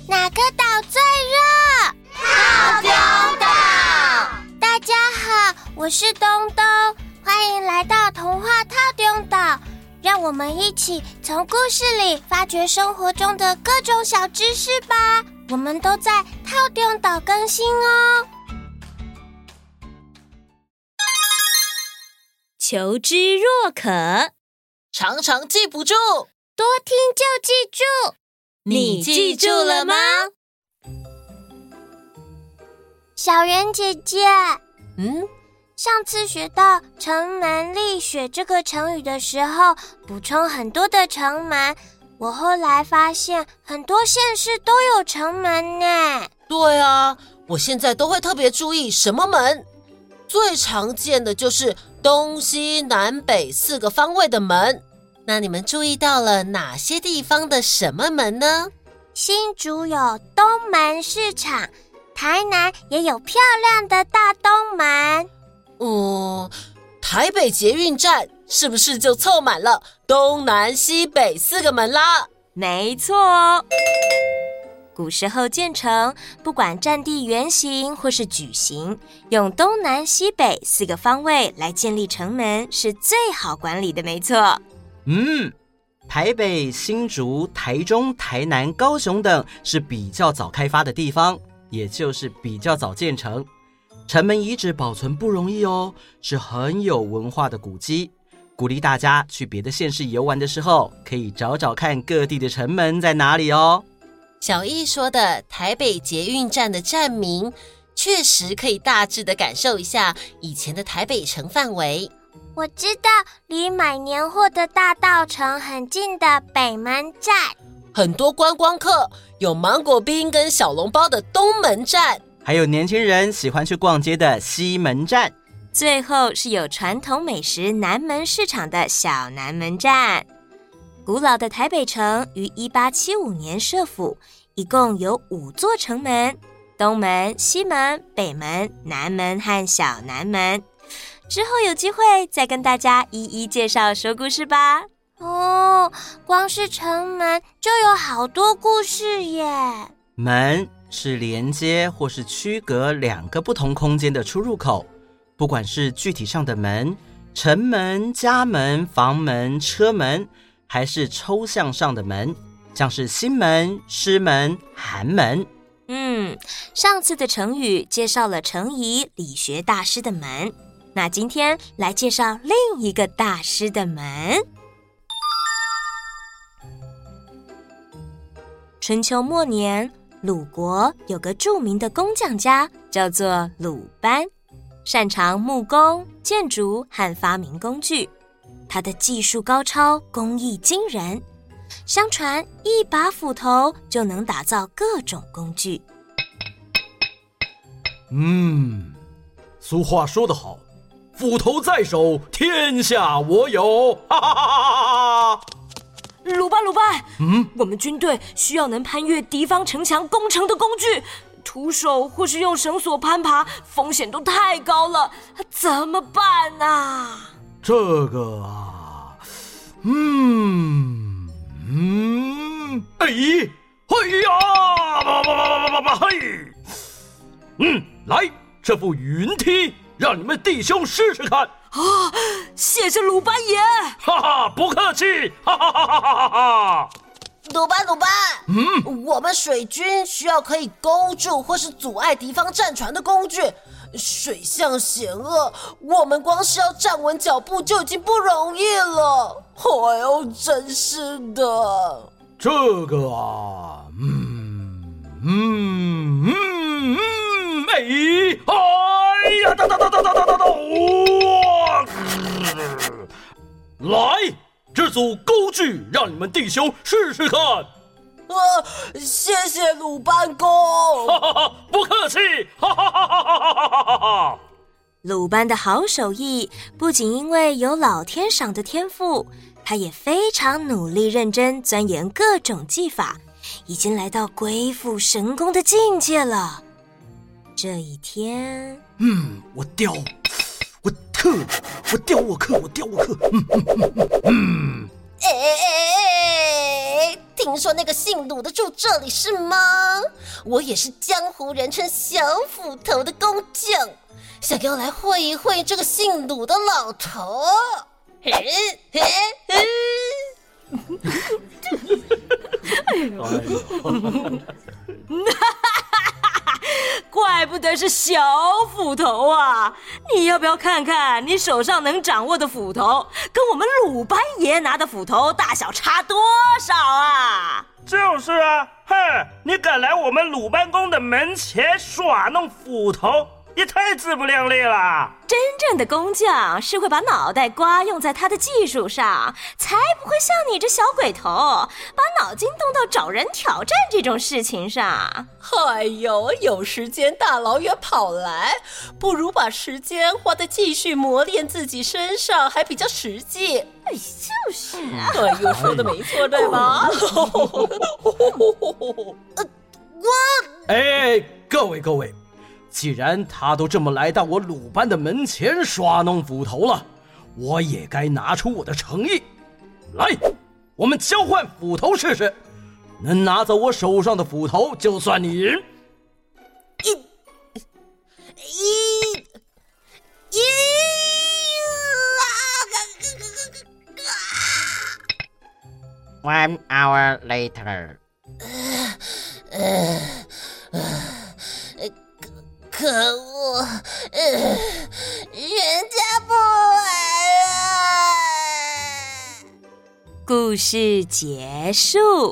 哪個島最熱？ 套丁島。 大家好，我是東東，歡迎來到童話套丁島。讓我們一起從故事裡發掘生活中的各種小知識吧。我們都在套丁島更新哦。 求知若渴， 常常記不住， 多聽就記住。 你記住了嗎？ 小圓姐姐，上次學到城門立雪這個成語的時候，補充很多的城門。我後來發現很多縣市都有城門呢。 對啊，我現在都會特別注意什麼門。最常見的就是東西南北4個方位的門。那你們注意到了哪些地方的什麼門呢？ 新竹有東門市場，台南也有漂亮的大東門。 台北捷運站是不是就湊滿了東南西北4個門啦？ 沒錯哦。古時候建城，不管占地圓形或是矩形，用東南西北4個方位來建立城門是最好管理的，沒錯。 台北、新竹、台中、台南、高雄等是比較早開發的地方，也就是比較早建成。城門遺址保存不容易哦，是很有文化的古蹟。鼓勵大家去別的縣市遊玩的時候，可以找找看各地的城門在哪裡哦。 小易說的台北捷運站的站名，確實可以大致的感受一下以前的台北城範圍。 我知道離買年貨的大稻埕很近的北門站， 很多觀光客有芒果冰跟小籠包的東門站， 還有年輕人喜歡去逛街的西門站， 最後是有傳統美食南門市場的小南門站。古老的台北城於1875年設府，一共有5座城門：東門、西門、北門、南門和小南門。之後有機會再跟大家一一介紹說故事吧。 光是城門就有好多故事耶。 門是連接或是區隔2個不同空間的出入口，不管是具體上的門，城門、家門、房門、車門，還是抽象上的門，像是新門、師門、寒門。 上次的成語介紹了程頤理學大師的門，那今天來介紹另一個大師的門。春秋末年，魯國有個著名的工匠家，叫做魯班，擅長木工、建築和發明工具。他的技術高超，工藝驚人。相傳一把斧頭就能打造各種工具。 俗話說得好，斧頭在手，天下我有，哈哈哈哈哈！ 魯班，我們軍隊需要能攀越敵方城牆攻城的工具，徒手或是用繩索攀爬，風險都太高了，怎麼辦啊？ 這個啊，來，這副雲梯，讓你們弟兄試試看。 謝謝魯班爺。 哈哈，不客氣。哈哈哈哈哈哈。 魯班，我們水軍需要可以勾住或是阻礙敵方戰船的工具。水象險惡，我們光是要站穩腳步就已經不容易了。哎呦，真是的。 這個啊，來，這組鈎具讓你們弟兄試試看。 謝謝魯班公。 不客氣。 魯班的好手藝不僅因為有老天賞的天賦，他也非常努力認真鑽研各種技法，已經來到鬼斧神工的境界了。這一天， 我雕我刻。 听聽說那個姓魯的住這裡是嗎？我也是江湖人稱小斧頭的工匠，想要來會一會這個姓魯的老頭。 怪不得是小斧頭啊！你要不要看看你手上能掌握的斧头，跟我们鲁班爺拿的斧頭大小差多少啊？ 就是啊，哼，你敢来我们鲁班公的门前耍弄斧頭，也太自不量力了！ 真正的工匠是会把脑袋瓜用在他的技術上，才不會像你這小鬼頭，把腦筋動到找人挑戰這種事情上。 哎呦，有時間大老遠跑來，不如把時間花在繼續磨練自己身上，還比較實際。 哎，就是啊。 哎呦，說的沒錯，對吧？ 哎，各位。既然他都這麼來到我魯班的門前耍弄斧頭了，我也該拿出我的誠意。來，我們交換斧頭試試，能拿走我手上的斧頭就算你贏。 1 hour later。 可惡，人家不來了。 故事結束。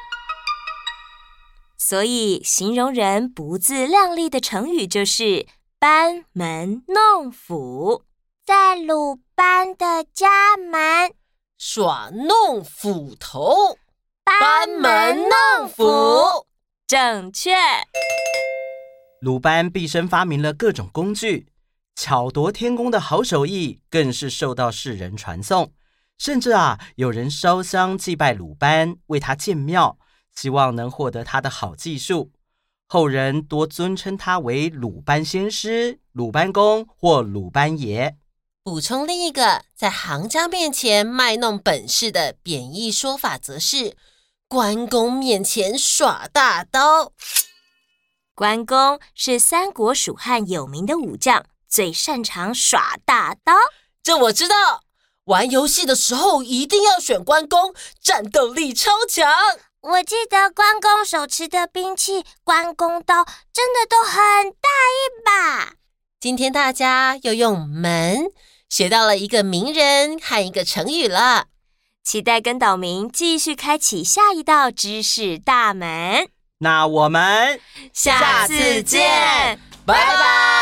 所以形容人不自量力的成語就是班門弄斧。 在魯班的家門耍弄斧頭，班門弄斧， 正確。 魯班畢生發明了各種工具，巧奪天工的好手藝更是受到世人傳頌。甚至有人燒香祭拜魯班，為他建廟，希望能獲得他的好技術。後人多尊稱他為魯班先師、魯班公或魯班爺。 補充另一個在行家面前賣弄本事的貶義說法，則是關公面前耍大刀。 關公是三國蜀漢有名的武將，最擅長耍大刀。 這我知道，玩遊戲的時候一定要選關公，戰鬥力超強。 我記得關公手持的兵器關公刀真的都很大一把。 今天大家又用門學到了一個名人和一個成語了， 期待跟島民繼續開啟下一道知識大門。 那我們下次見， 拜拜。